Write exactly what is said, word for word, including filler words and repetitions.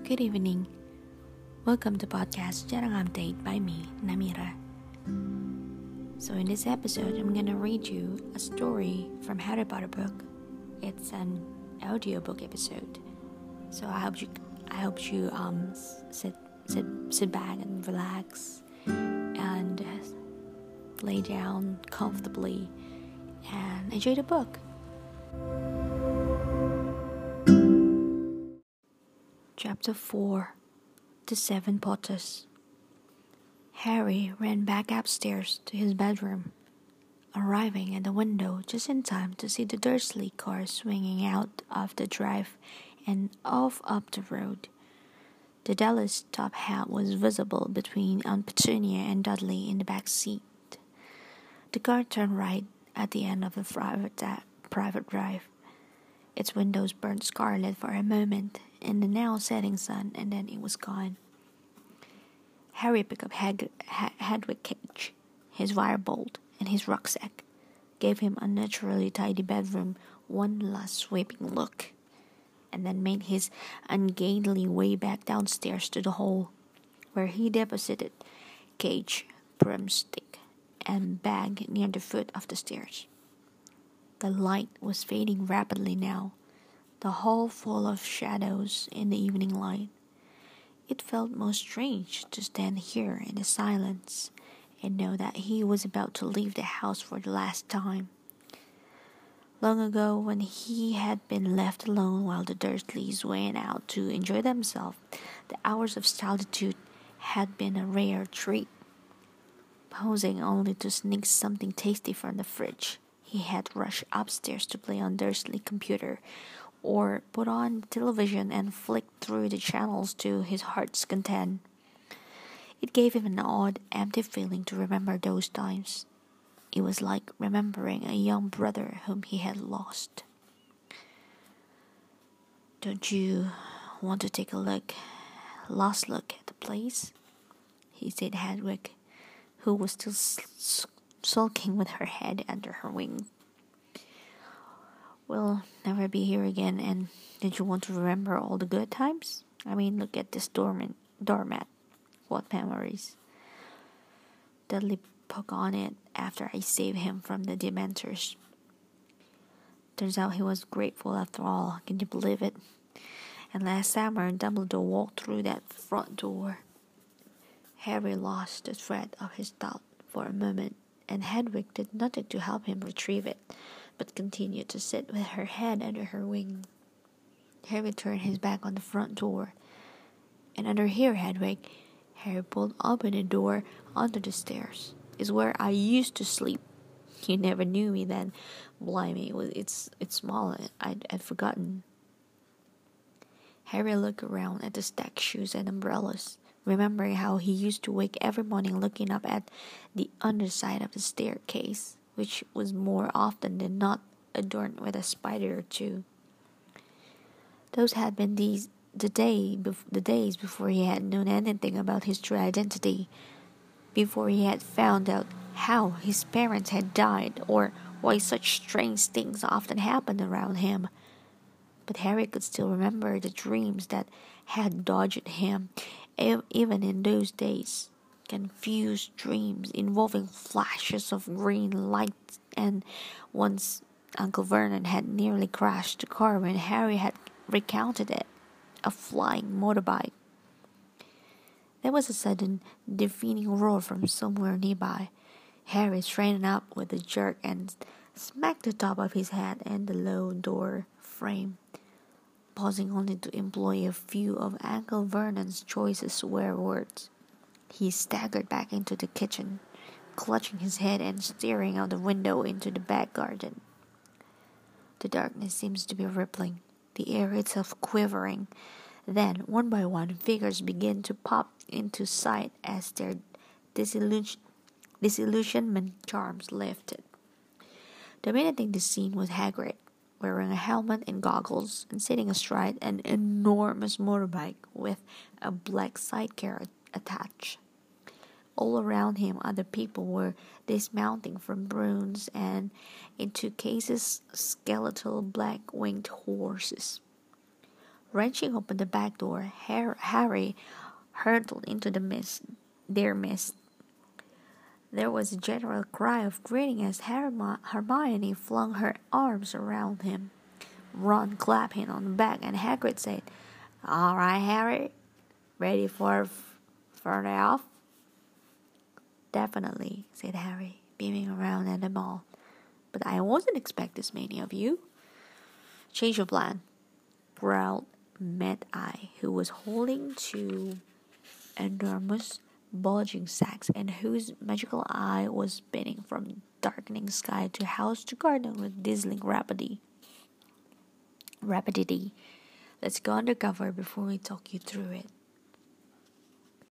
Good evening. Welcome to podcast Jarang Update by me, Namira. So in this episode, I'm gonna read you a story from Harry Potter book. It's an audiobook episode. So I hope you, I hope you um sit sit sit back and relax and lay down comfortably and enjoy the book. Chapter four. The Seven Potters. Harry ran back upstairs to his bedroom, arriving at the window just in time to see the Dursley car swinging out of the drive and off up the road. The Dudley's top hat was visible between Aunt Petunia and Dudley in the back seat. The car turned right at the end of the private, da- private drive. Its windows burned scarlet for a moment in the now setting sun, and then it was gone. Harry picked up Hag- ha- Hedwig Cage, his firebolt, and his rucksack, gave him unnaturally tidy bedroom one last sweeping look, and then made his ungainly way back downstairs to the hall, where he deposited Cage, broomstick, and bag near the foot of the stairs. The light was fading rapidly now, the hall full of shadows in the evening light. It felt most strange to stand here in the silence and know that he was about to leave the house for the last time. Long ago, when he had been left alone while the Dursleys went out to enjoy themselves, the hours of solitude had been a rare treat. Pausing only to sneak something tasty from the fridge, he had rushed upstairs to play on Dursley computer, or put on television and flick through the channels to his heart's content. It gave him an odd, empty feeling to remember those times. It was like remembering a young brother whom he had lost. "Don't you want to take a look, last look at the place?" he said to Hedwig, who was still s- sulking with her head under her wing. "We'll never be here again, and did you want to remember all the good times? I mean, look at this doormat. doormat. What memories." Dudley poked on it after I saved him from the Dementors. Turns out he was grateful after all, can you believe it? And last summer, Dumbledore walked through that front door. Harry lost the thread of his thought for a moment, and Hedwig did nothing to help him retrieve it, but continued to sit with her head under her wing. Harry turned his back on the front door. "And under here, Hedwig," Harry pulled open the door onto the stairs, "is where I used to sleep. You never knew me then. Blimey, it's it's small. I'd, I'd forgotten." Harry looked around at the stacked shoes and umbrellas, remembering how he used to wake every morning looking up at the underside of the staircase, which was more often than not adorned with a spider or two. Those had been these the day bef- the days before he had known anything about his true identity, before he had found out how his parents had died or why such strange things often happened around him. But Harry could still remember the dreams that had dogged him, e- even in those days. Confused dreams involving flashes of green light, and once Uncle Vernon had nearly crashed the car when Harry had recounted it, a flying motorbike. There was a sudden, deafening roar from somewhere nearby. Harry straightened up with a jerk and smacked the top of his head and the low door frame, pausing only to employ a few of Uncle Vernon's choicest swear words. He staggered back into the kitchen, clutching his head and staring out the window into the back garden. The darkness seems to be rippling, the air itself quivering. Then, one by one, figures begin to pop into sight as their disillusion- disillusionment charms lifted. Dominating the scene was Hagrid, wearing a helmet and goggles, and sitting astride an enormous motorbike with a black sidecar attached. All around him, other people were dismounting from brooms, and in two cases, skeletal black-winged horses. Wrenching open the back door, Harry hurtled into the mist, their midst. There was a general cry of greeting as Hermione flung her arms around him. Ron clapped him on the back, and Hagrid said, "All right, Harry, ready for f- further off?" "Definitely," said Harry, beaming around at them all. "But I wasn't expecting this many of you." "Change of plan," growled Mad-Eye, who was holding two enormous bulging sacks and whose magical eye was spinning from darkening sky to house to garden with dazzling rapidity. Rapidity. "Let's go undercover before we talk you through it."